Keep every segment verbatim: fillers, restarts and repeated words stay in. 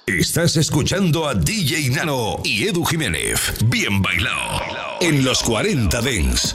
Estás escuchando a D J Nano y Edu Jiménez. Bien bailado. En los cuarenta Dance.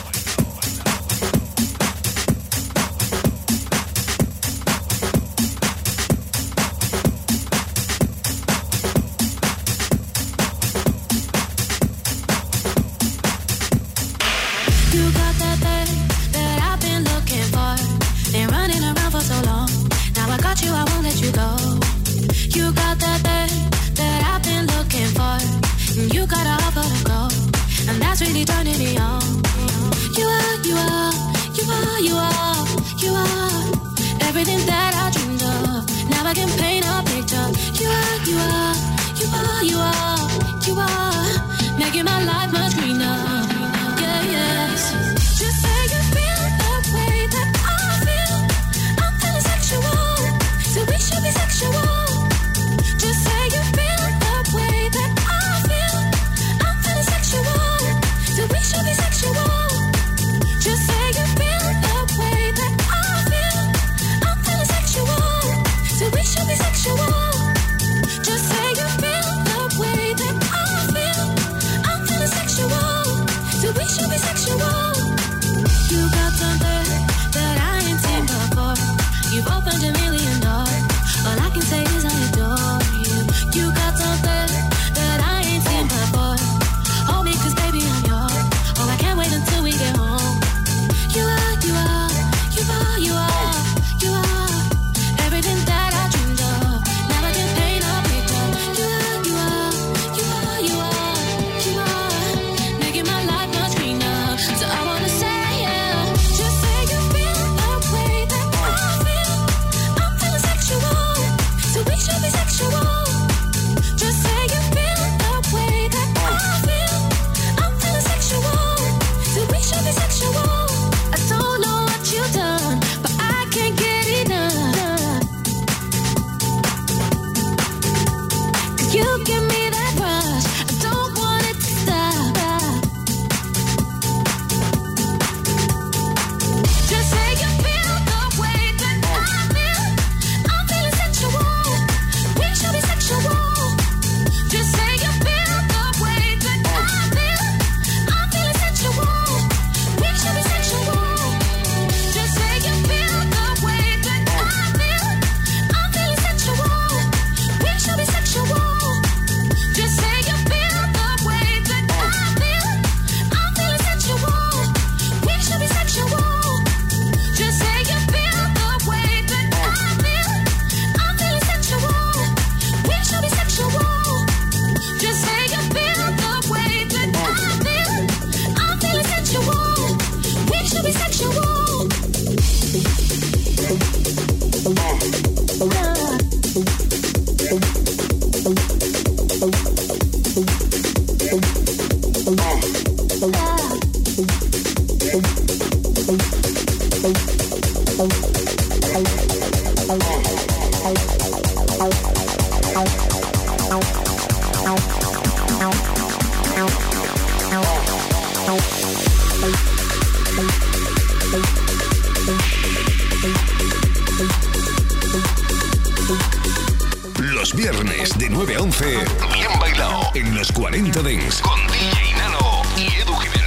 Los viernes de nueve a once, bien bailado en los cuarenta Dance con D J Nano y Edu Jiménez.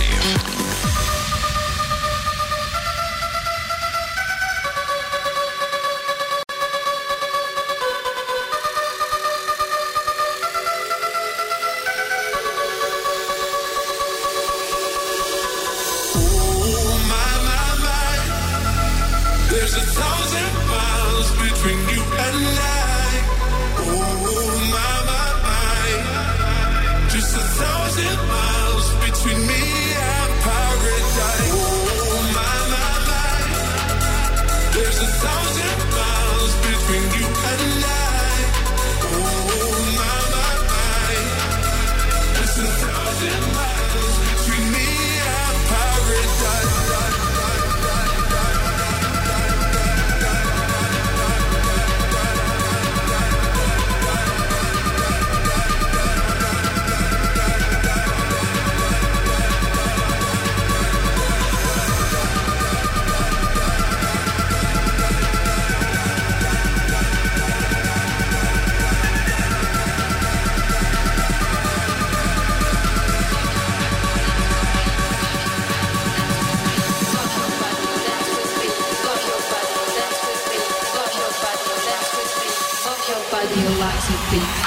body likes a beat.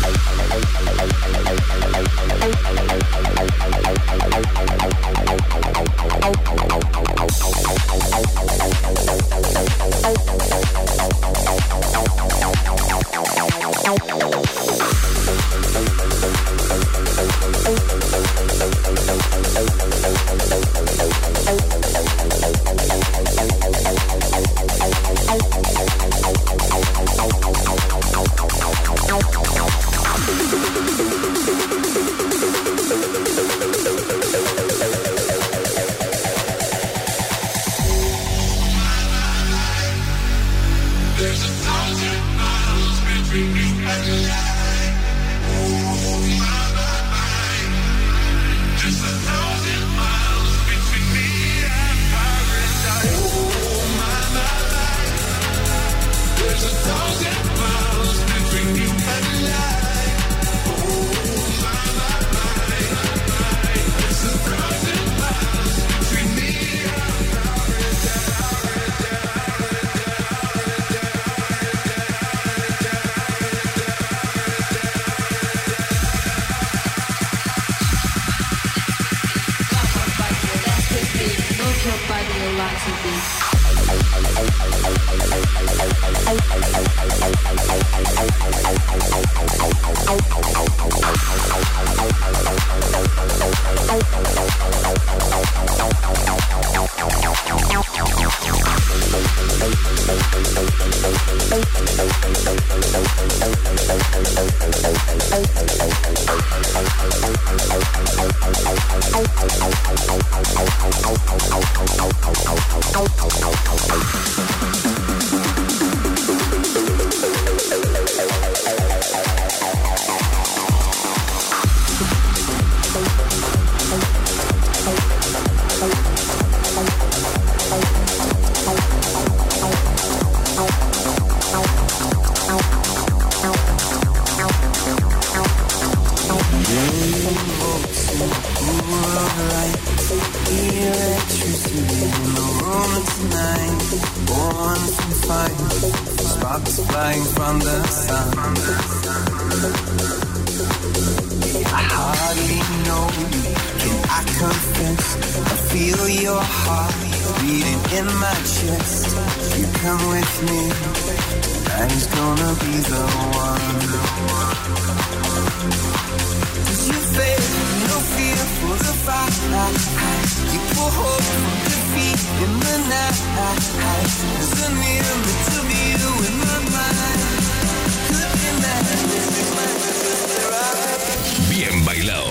Bien bailado.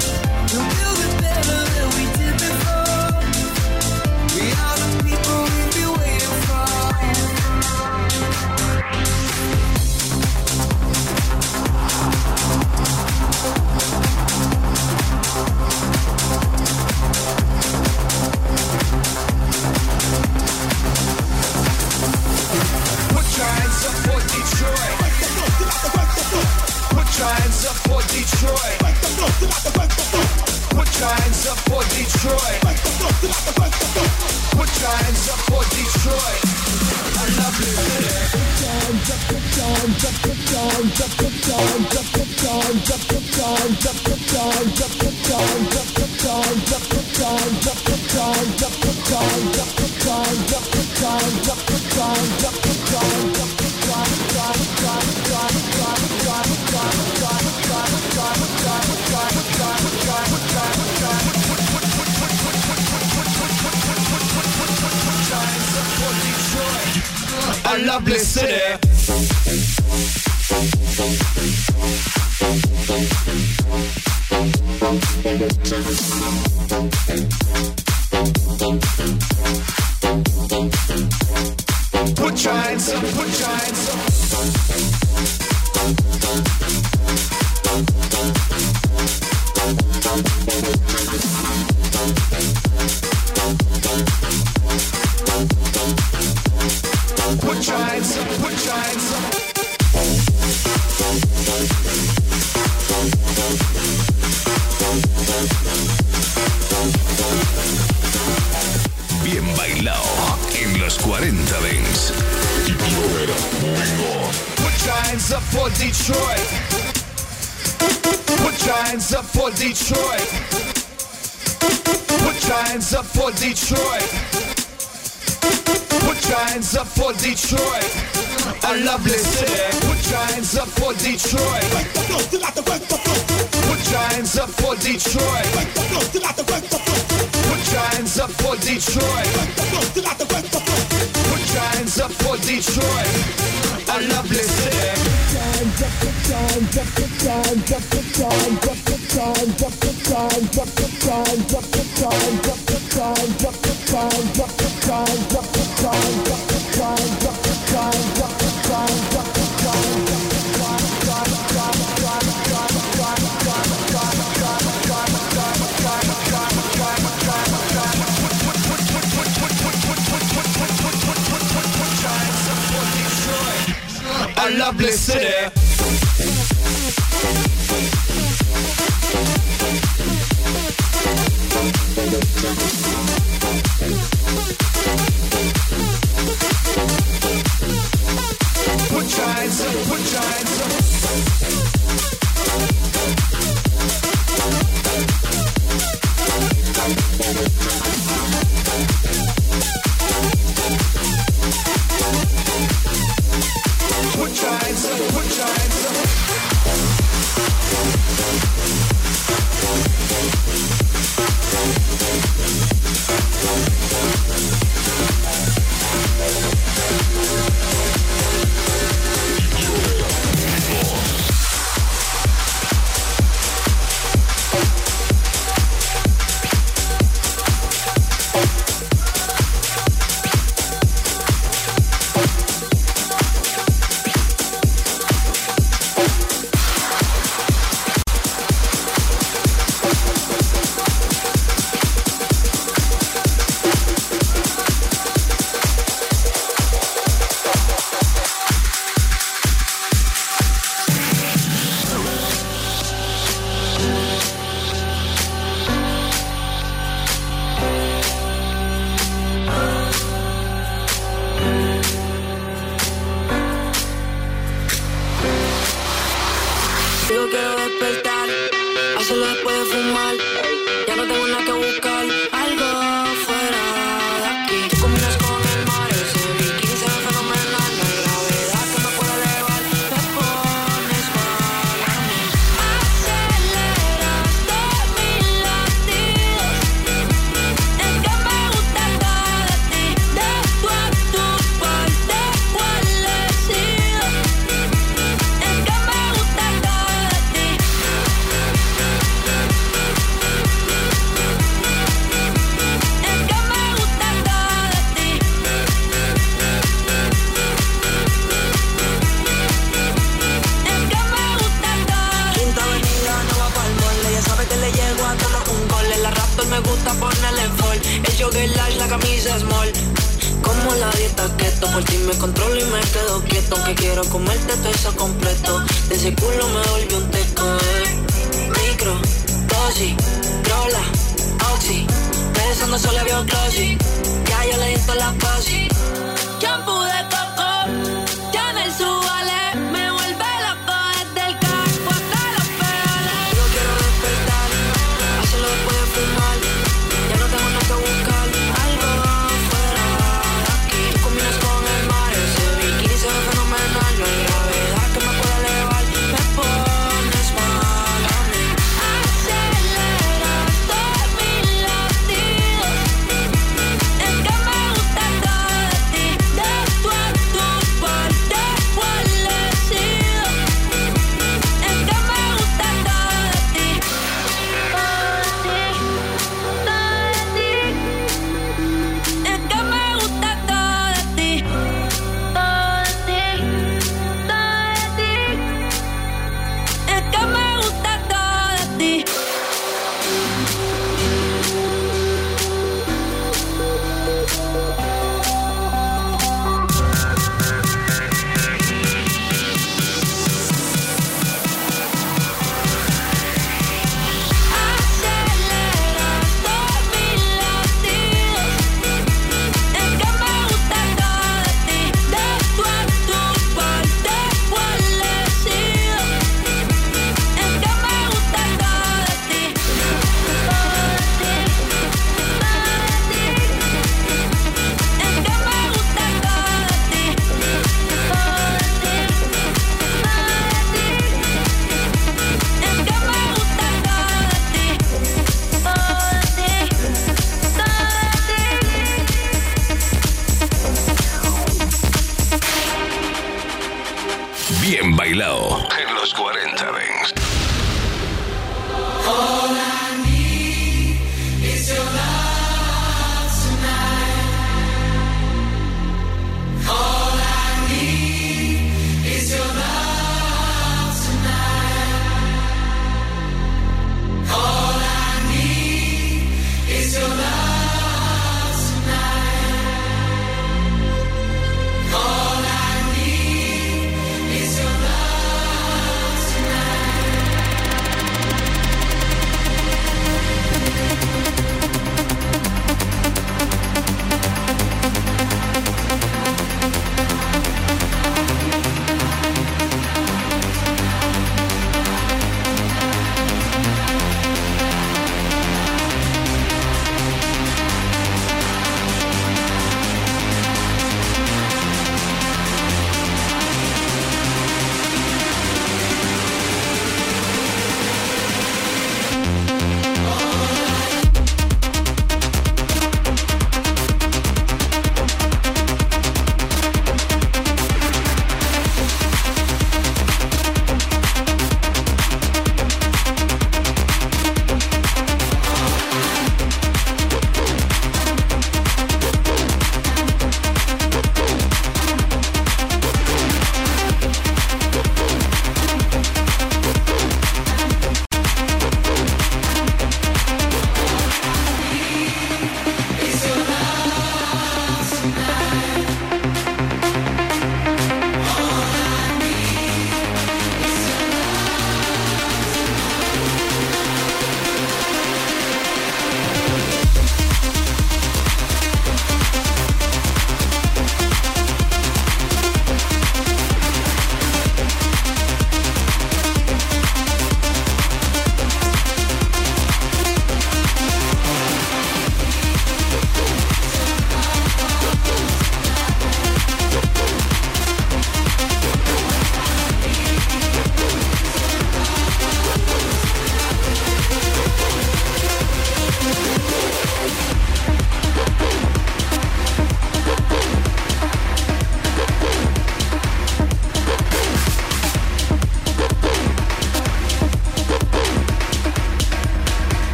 People Detroit. Put your hands up for Detroit. Put your hands up for Detroit. I love this city. A lovely city. Put your hands up, put your hands up. Put your hands up, put your hands up. Bien bailado en los cuarenta Dance. Put your hands up for Detroit. Put your hands up for Detroit. Put your hands up for Detroit. Put your hands up for Detroit. A lovely city. Put your hands up for Detroit. Put your hands up for Detroit. Put your hands up for Detroit. Put your hands up for Detroit. A lovely city. A lovely city. Put your hands up, put your hands up. Put your hands up, put your hands up. Digo quiero despertar, hacerlo después de fumar. Ya no tengo nada que buscar, algo fuera de aquí. Tú combinas con el mar, ese bikini se ve fenomenal. No hay gravedad que me pueda elevar, te pones mal a mí. Aceleraste mis latidos, es que me gusta todo de ti. De tu a tu parte, ¿cuál he sido? Es que me gusta todo de ti. Me gusta ponerle en fall. El jogger large, la camisa small. Como la dieta keto, por ti me controlo y me quedo quieto. Que quiero comerte todo eso completo. De ese culo me volvió un teco, eh.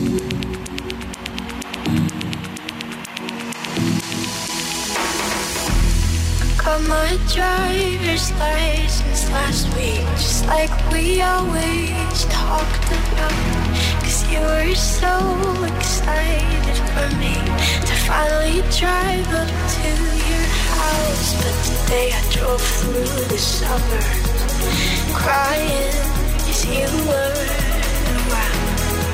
Got my driver's license last week, just like we always talked about. Cause you were so excited for me to finally drive up to your house. But today I drove through the suburbs crying cause you weren't around.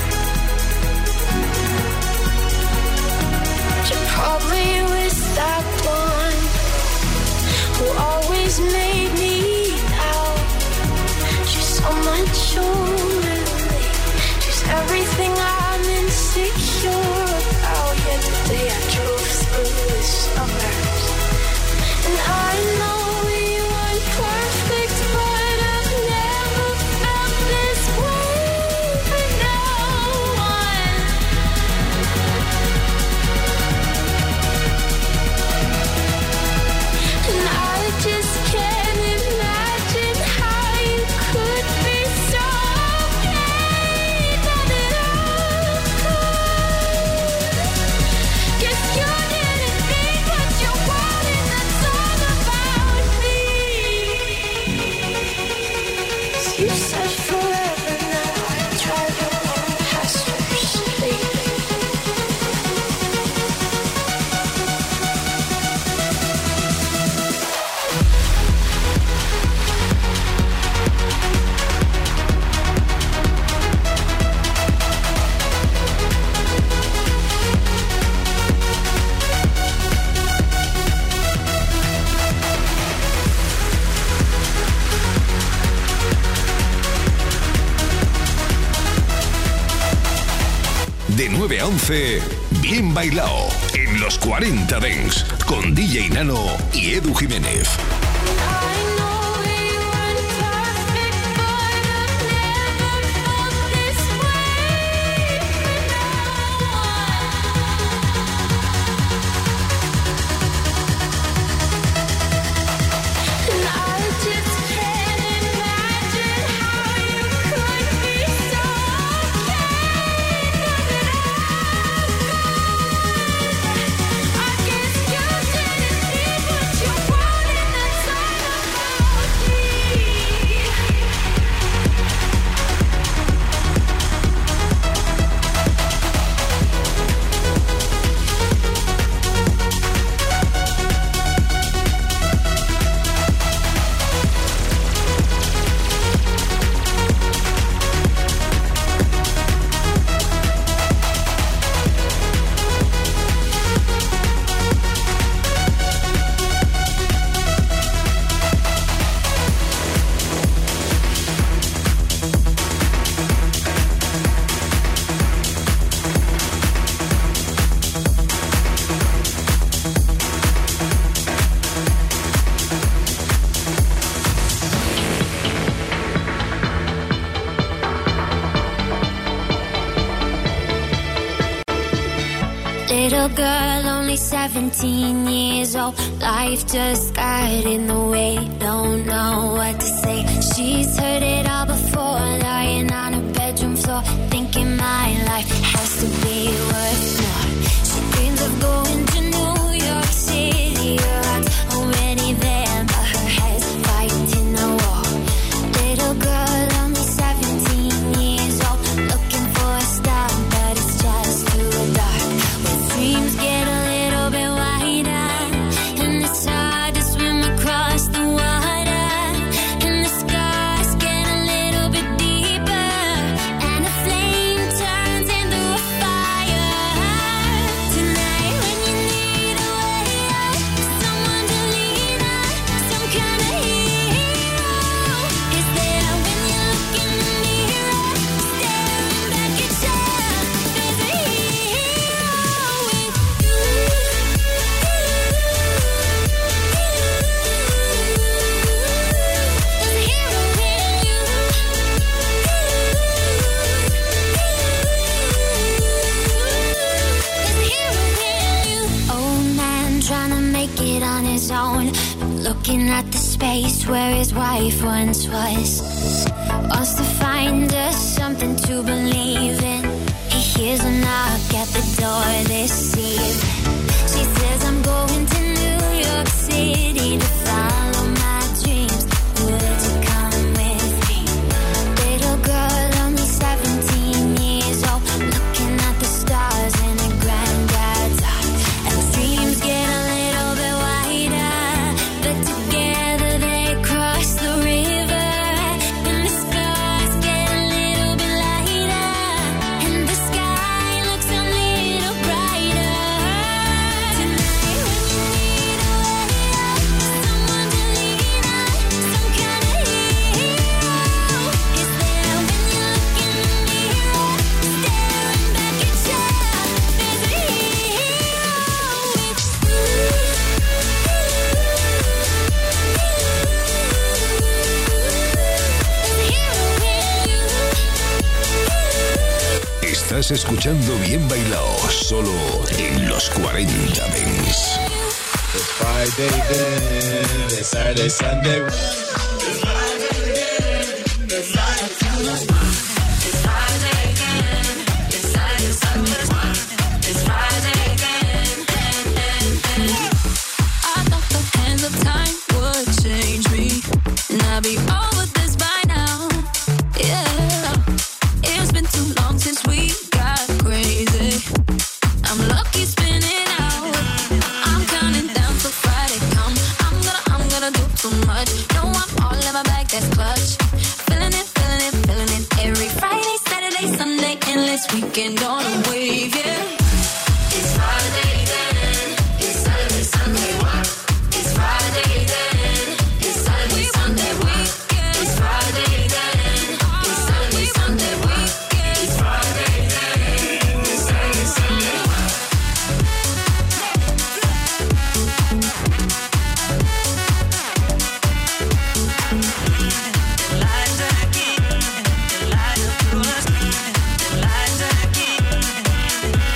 You probably was that one who always made me doubt. She's so much older than me. She's everything I'm insecure about. Yet today I drove through the suburbs, and I know we weren't perfect, but I've never felt this way for no one. And I just can't imagine how you could be so okay now that I'm gone. Guess you didn't think what you wanted, that's all about me. 'Cause you said forever, now I drive along past your street. De nueve a once, Bien Bailao, en los cuarenta Dance, con D J Nano y Edu Jiménez. I know we weren't perfect, but I've never felt this way for no one. And I just can't imagine how you could be so okay now that I'm gone. I guess you didn't think what you wanted, that's all about me. Little girl, only seventeen years old. Life just got in the way, don't know what to say. She's heard it all before, lying on her bedroom floor, thinking my life has to be worth more. She dreams of going to New York City. Her heart's already there, but her head's fighting a war. Little girl, only seventeen years old, looking for a star, but it's just too dark. Dreams get a little bit wider, and it's hard to swim across the water, and the scars get a little bit deeper, and the flame turns into a fire. Tonight when you need a way out, someone to lean on, some kind of hero is there when you look in the mirror, staring back at yourself. There's a hero with you. There's a hero in you. There's a hero in you. Old man trying to make it on his own, looking at the space where his wife once was. Wants to find us something to believe in. He Here's a knock at the door this eve. She says I'm going to New York City to follow my dreams. Would you come with me? Little girl, only seventeen years old, looking at the stars in her granddad's eye. And the dreams get a little bit wider, but together they cross the river. And the stars get a little bit lighter, and the sky looks a little brighter. Tonight when you need a way out, someone to lean on, some kind of hero is there when you look in the mirror, staring back at you. There's a hero with you. Estás escuchando Bien Bailao, solo en los cuarenta Dance. It's Friday then, it's Saturday, Sunday. I thought the hands of time would change me, and I'll be over this by now. Yeah, it's been too long since we got crazy. I'm lucky spinning out. I'm counting down till Friday come. I'm gonna, I'm gonna do too much. No, I'm all in my bag, that's clutch. Feeling it, feeling it, feeling it. Every Friday, Saturday, Sunday, endless weekend on a wave, yeah. It's Friday then, it's Saturday, Sunday, what? It's Friday then, it's Saturday, Sunday, what? It's Friday then, it's Saturday, Sunday, what? It's Friday then, it's Saturday, Sunday, what? The light of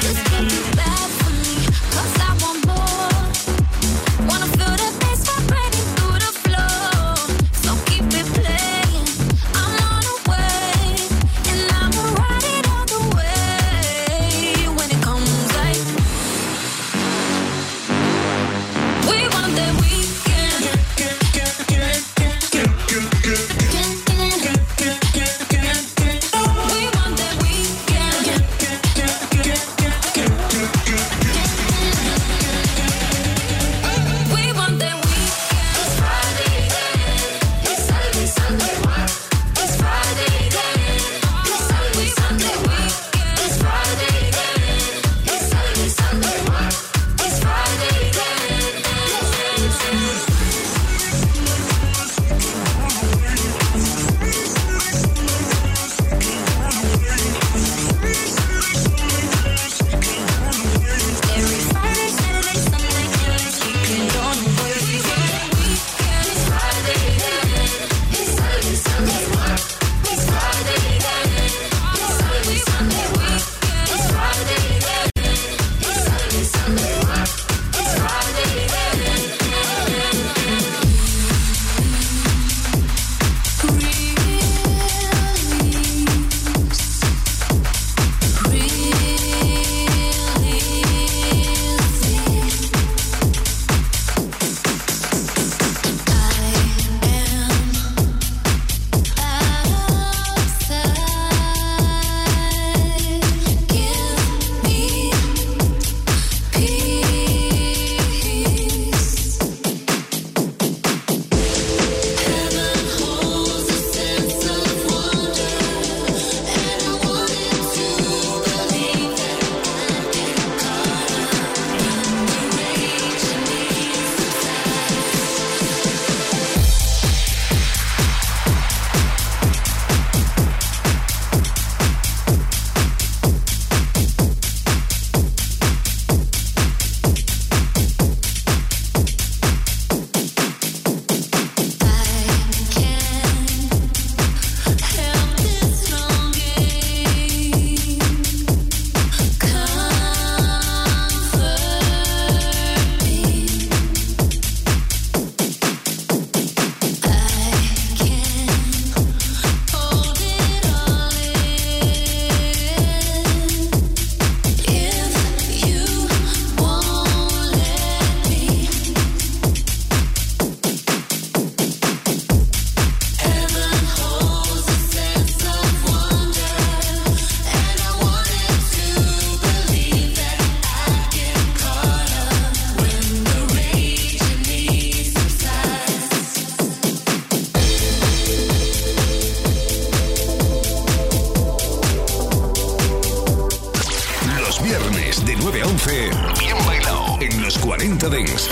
viernes de nueve a once, Bien Bailado en los cuarenta Dance.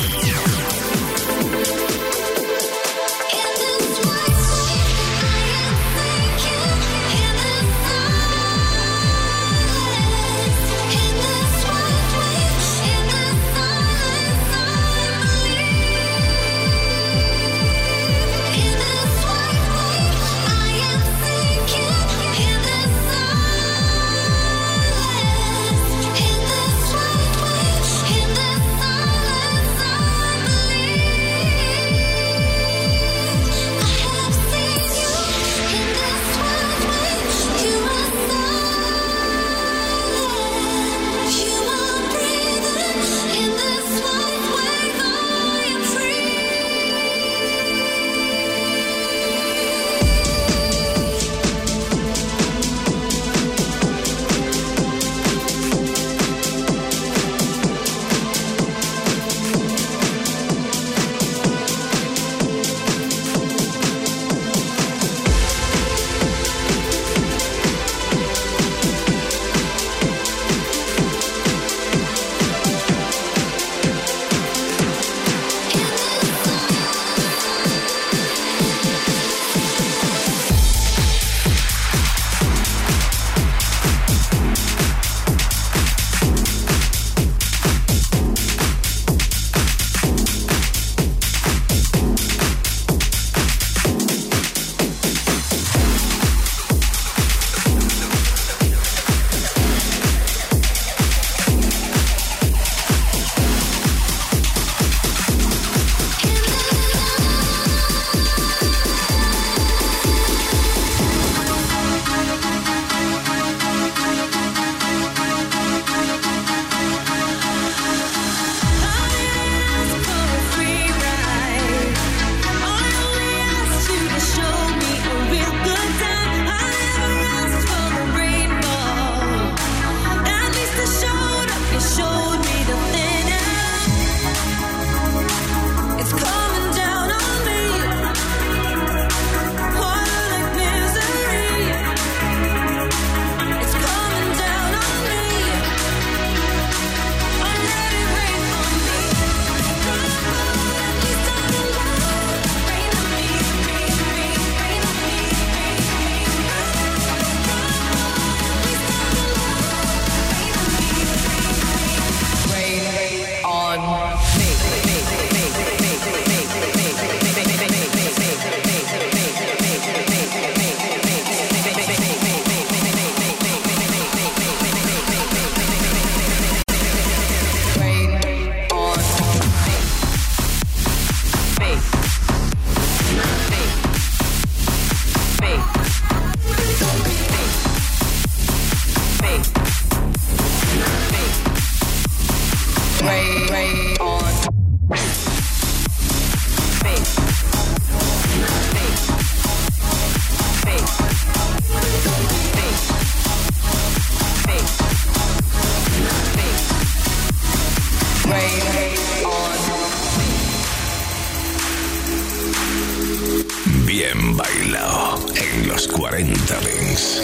Bien Bailado en los cuarenta Dance.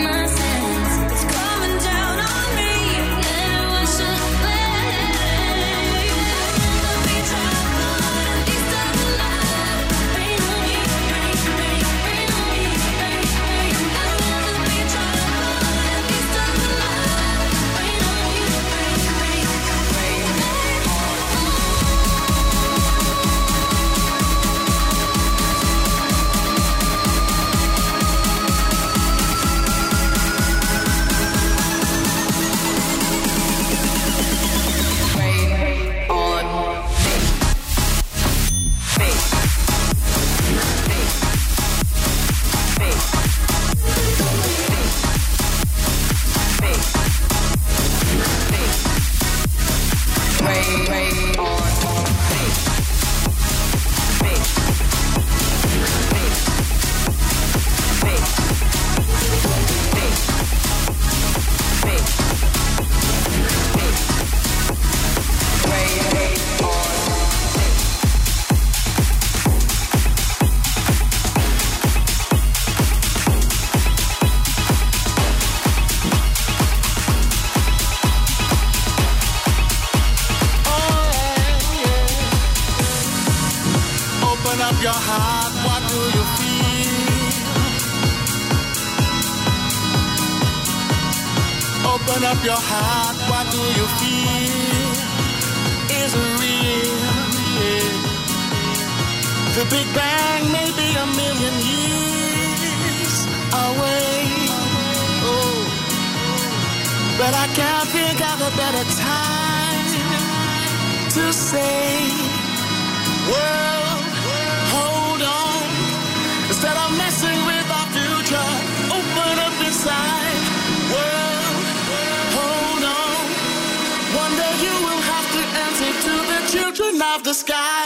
Let's Open up your heart, what do you feel? Open up your heart, what do you feel? Is it real? Yeah. The Big Bang may be a million years away. Oh, but I can't think of a better time to say, world, hold on. Instead of messing with our future, open up inside. World, hold on. One day you will have to answer to the children of the sky.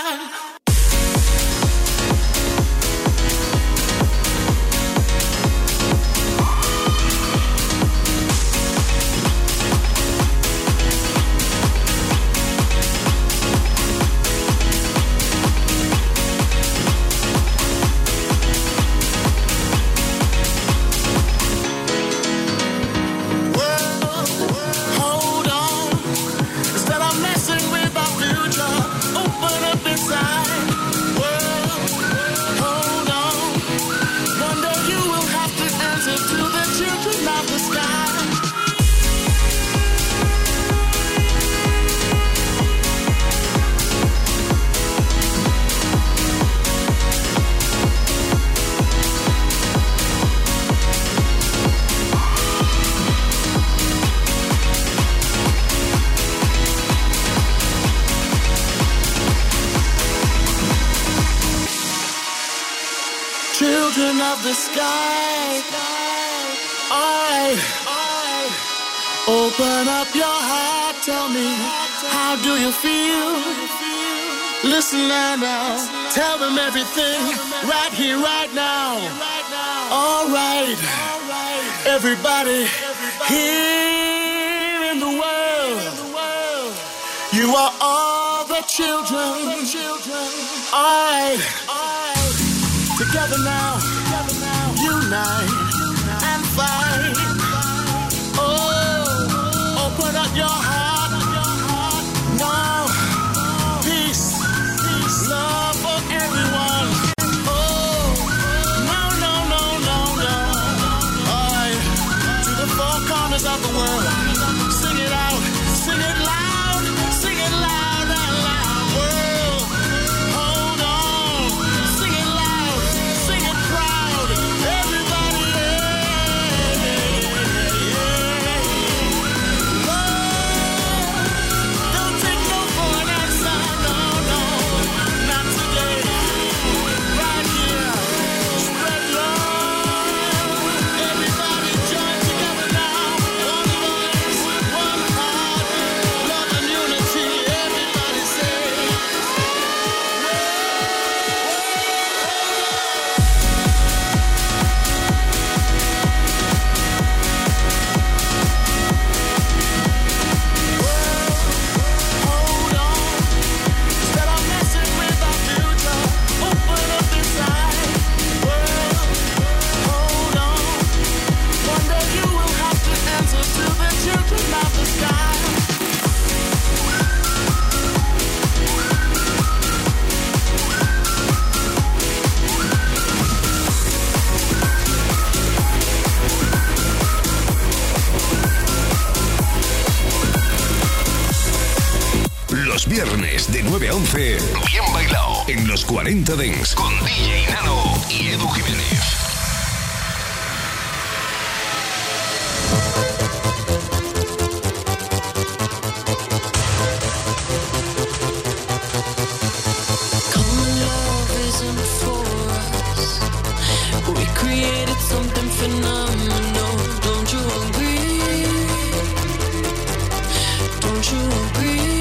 Children of the sky, alright, alright. Open up your heart, tell me, how do you feel? Listen now, tell them everything, right here, right now. Alright, everybody here in the world, you are all the children, alright. Together now, unite and fight. Oh, open up your heart. Now, peace, love for everyone. Oh, no, no, no, no, no. All right, to the four corners of the world. Sing it out, sing it loud, sing it loud and loud. World, hold on, sing it loud. Everybody, yeah, yeah, yeah. Love, don't take no for an answer, no, no, not today. Right here, spread love. Everybody join together now. One voice, one heart, love and unity. Everybody say, hold on. Instead of messing with our future, open up inside. World, hold on. One day you will have to answer to the children of the sky. Los viernes de nueve a once, bien bailado en los cuarenta Dance con D J Nano y Edu Jiménez. Common love isn't for us. We created something phenomenal. Don't you agree? Don't you agree?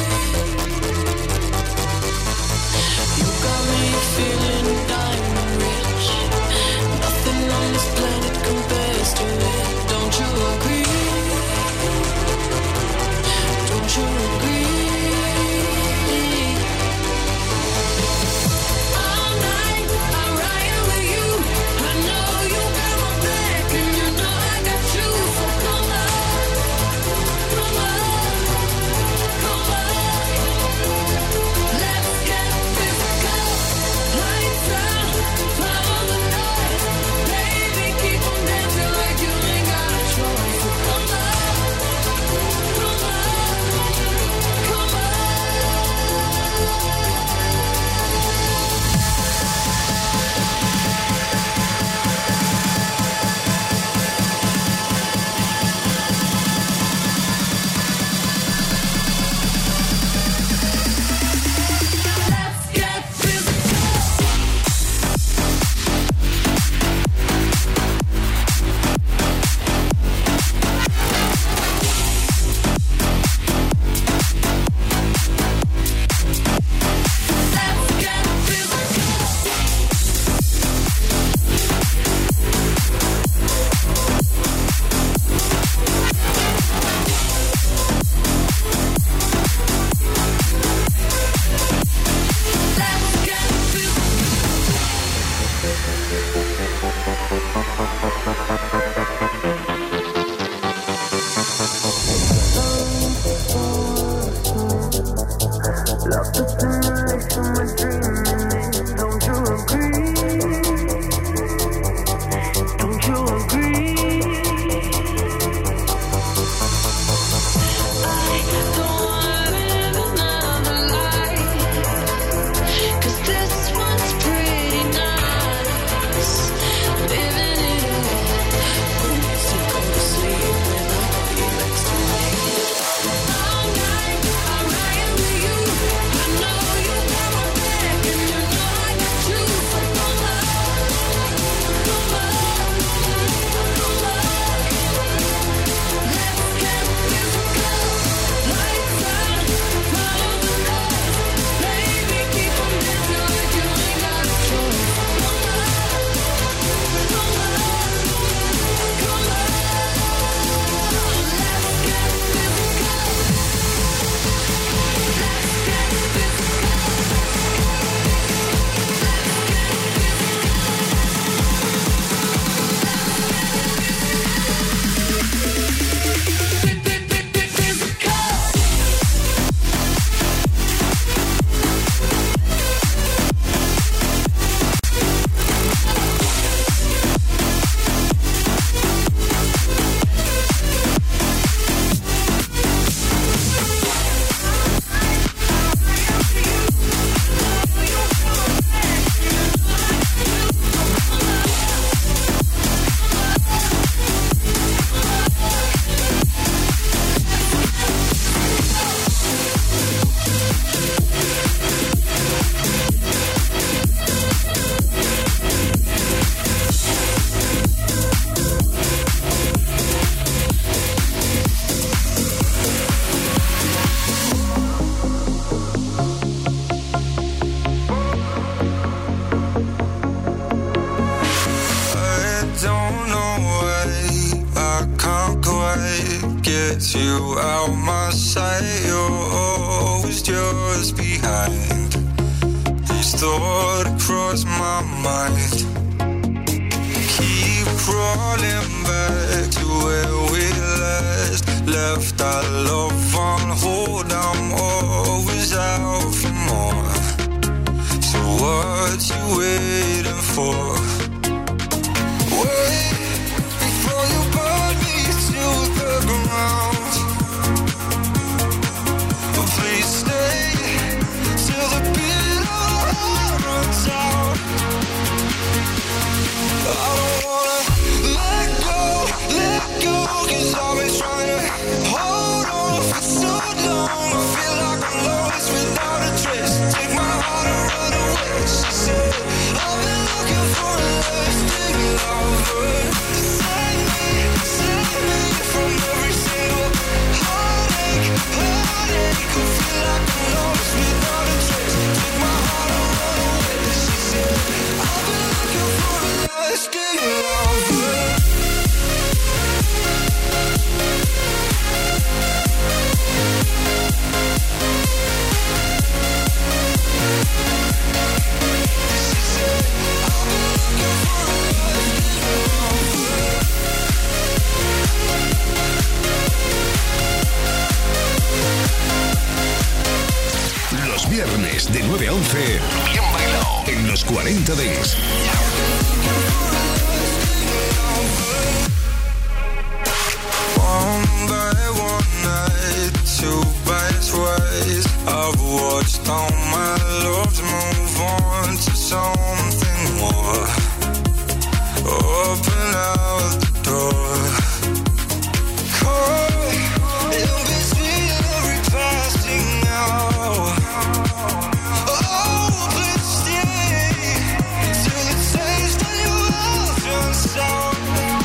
You got me feeling diamond rich. Nothing on this planet compares to it. Don't you agree? Don't you agree? All night I ride with you. I know get you out my sight. You're always just behind. These thoughts cross my mind. Keep crawling back to where we last left our love on hold. I'm always out for more. So what you waiting for? Wait before you burn me to the ground. Please stay till the beat of our heart runs out. I don't wanna let go, let go, 'cause I've been trying to hold on for so long. I feel like I'm lost without a trace. Take my heart and run away. She said, I've been looking for a lasting lover. Save me, save me from every single heartache, heartache. I feel like I'm lost without a trace. Take my heart and run away. She said, I've been looking for a lasting lover. Los viernes de nueve a once, bien bailado en los cuarenta Dance. One by one night, two by twice, I've watched all my loves move on to something more. Open out the door. Caught in between every passing hour. Oh, please stay till the taste of your mouth runs sour.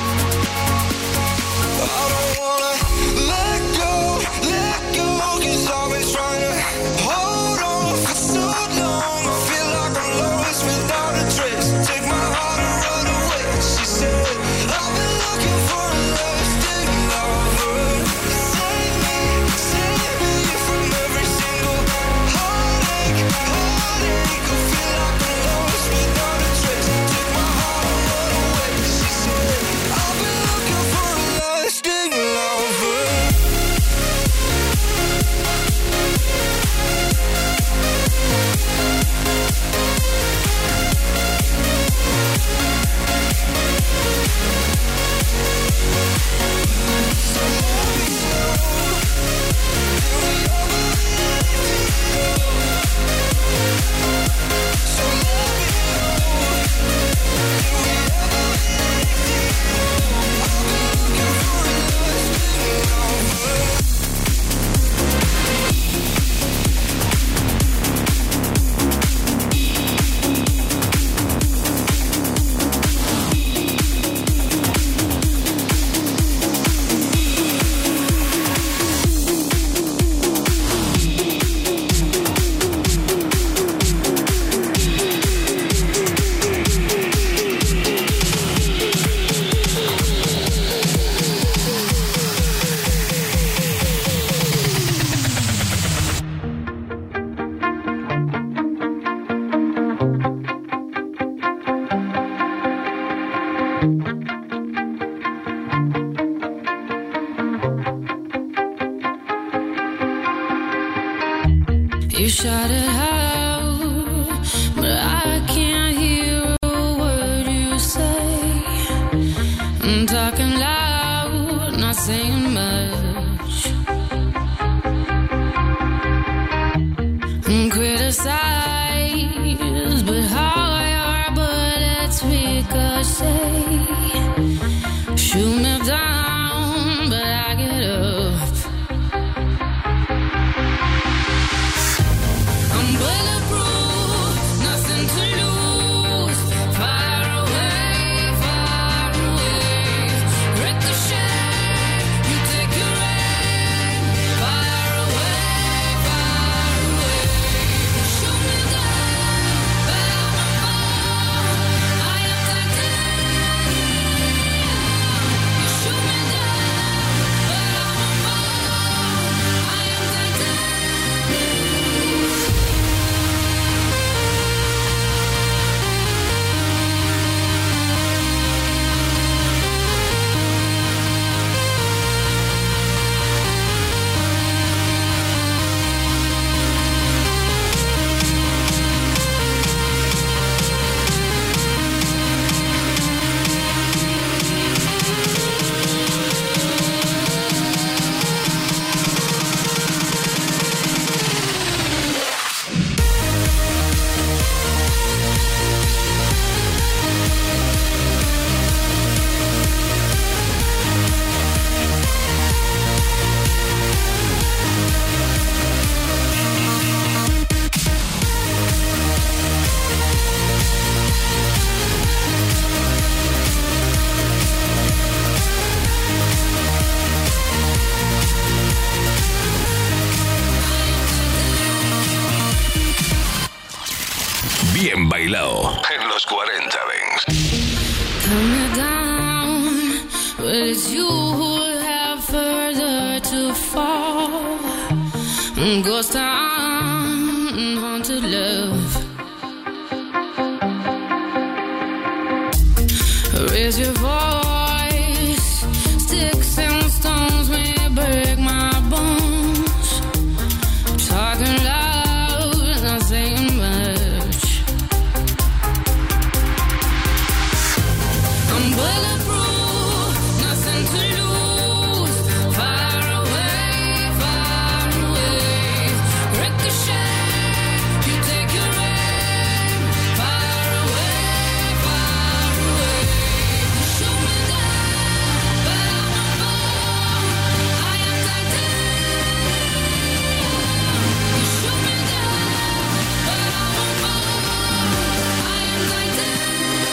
I don't wanna let go, let go, 'cause I've been trying to hold on for so long. I feel like I'm lost without a trace. Take my heart and run away. She said, I've been looking for a lasting lover. Save me, save me from every single heartache, heartache. I feel like I'm lost without a trace. Take my heart and run away. She said, I've been looking for a lasting lover. You shout it out, but I can't hear a word you say. I'm talking loud, not saying much. I'm criticized, but how your bullets ricochet. Shoot me down, but I get up. los cuarenta Dance. Turn me down, but it's you who have further to fall. Ghost town, haunted love. Raise your voice, sticks and stones may break my bones. Talking loud, not saying much. I'm bulletproof, nothing to lose. Far away, far away. Ricochet, you take your aim. Far away, far away. Shoot me down, but I won't fall. I am titanium. You shoot me down, but I won't fall. I am titanium.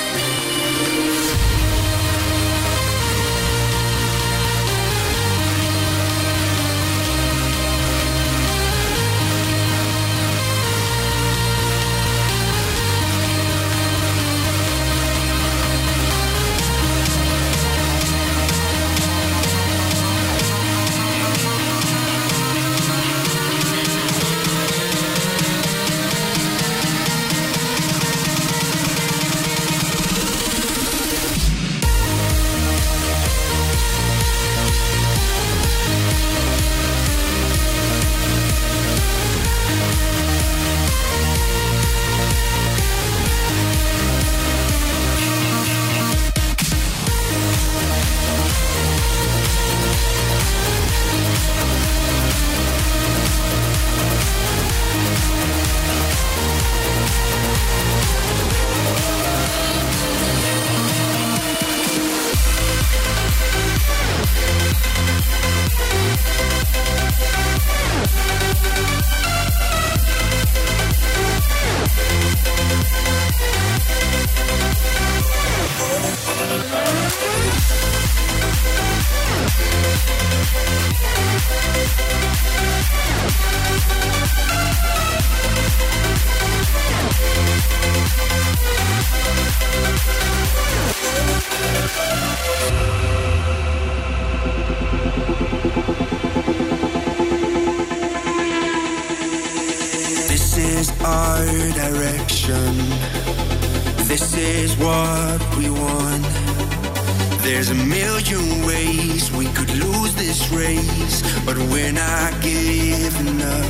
This is our direction. This is what we want. There's a million ways we could lose this race, but we're not giving up.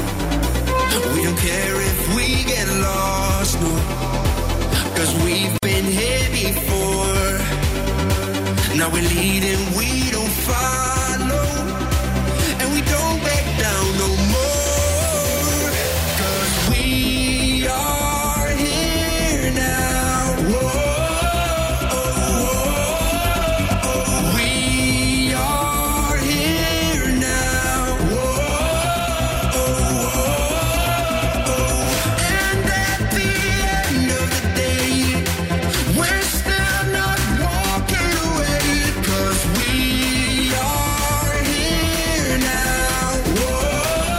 We don't care if we get lost, no, 'cause we've been here before. Now we're leading, we don't follow, and we don't back down no more. 'Cause we are here now. Whoa, we are here now. Whoa, and at the end of the day, we're still not walking away. 'Cause we are here now. Whoa.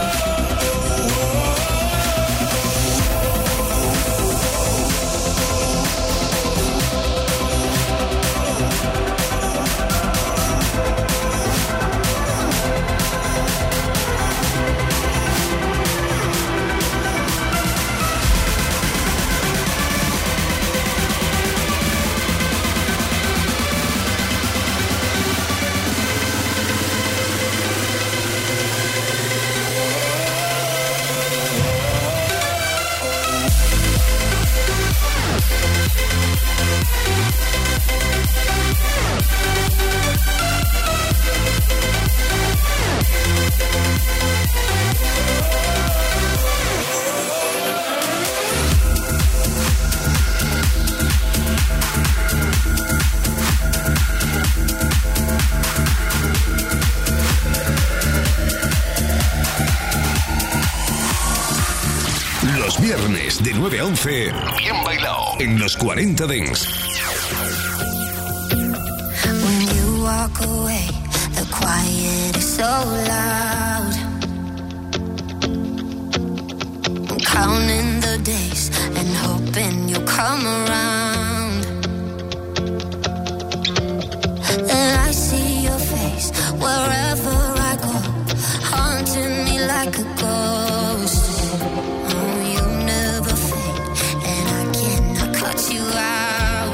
Los viernes de nueve a once, bien bailado en los cuarenta Dance. When you walk away, the quiet is so loud. I'm counting the the days and hoping you'll come around. And I see your face wherever I go, haunting me like a ghost. Oh, you never fade, and I cannot cut you out.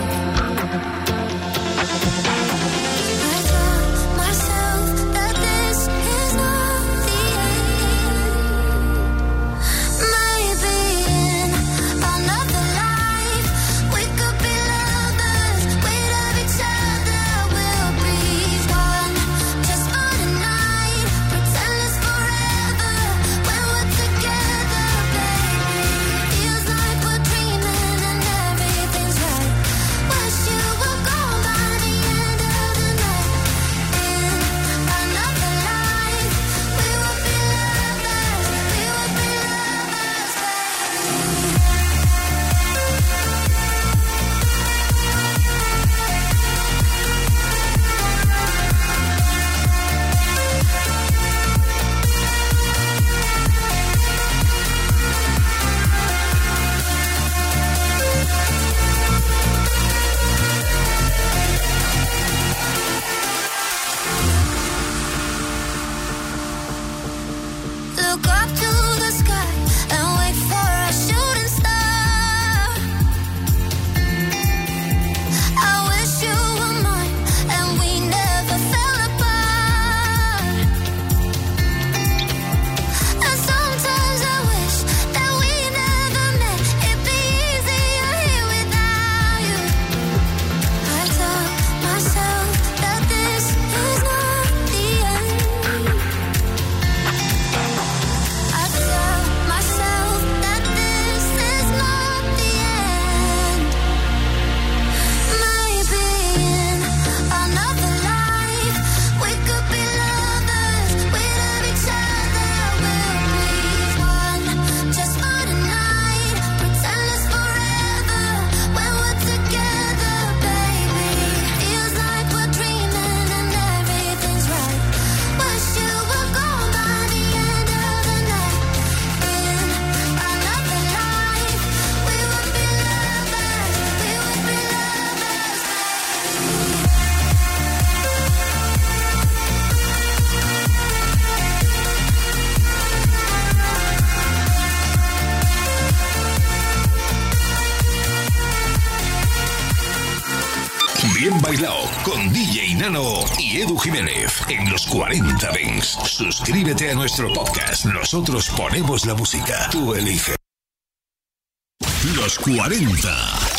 Bien bailado con D J Nano y Edu Jiménez en los cuarenta Dance. Suscríbete a nuestro podcast. Nosotros ponemos la música. Tú eliges. Los cuarenta.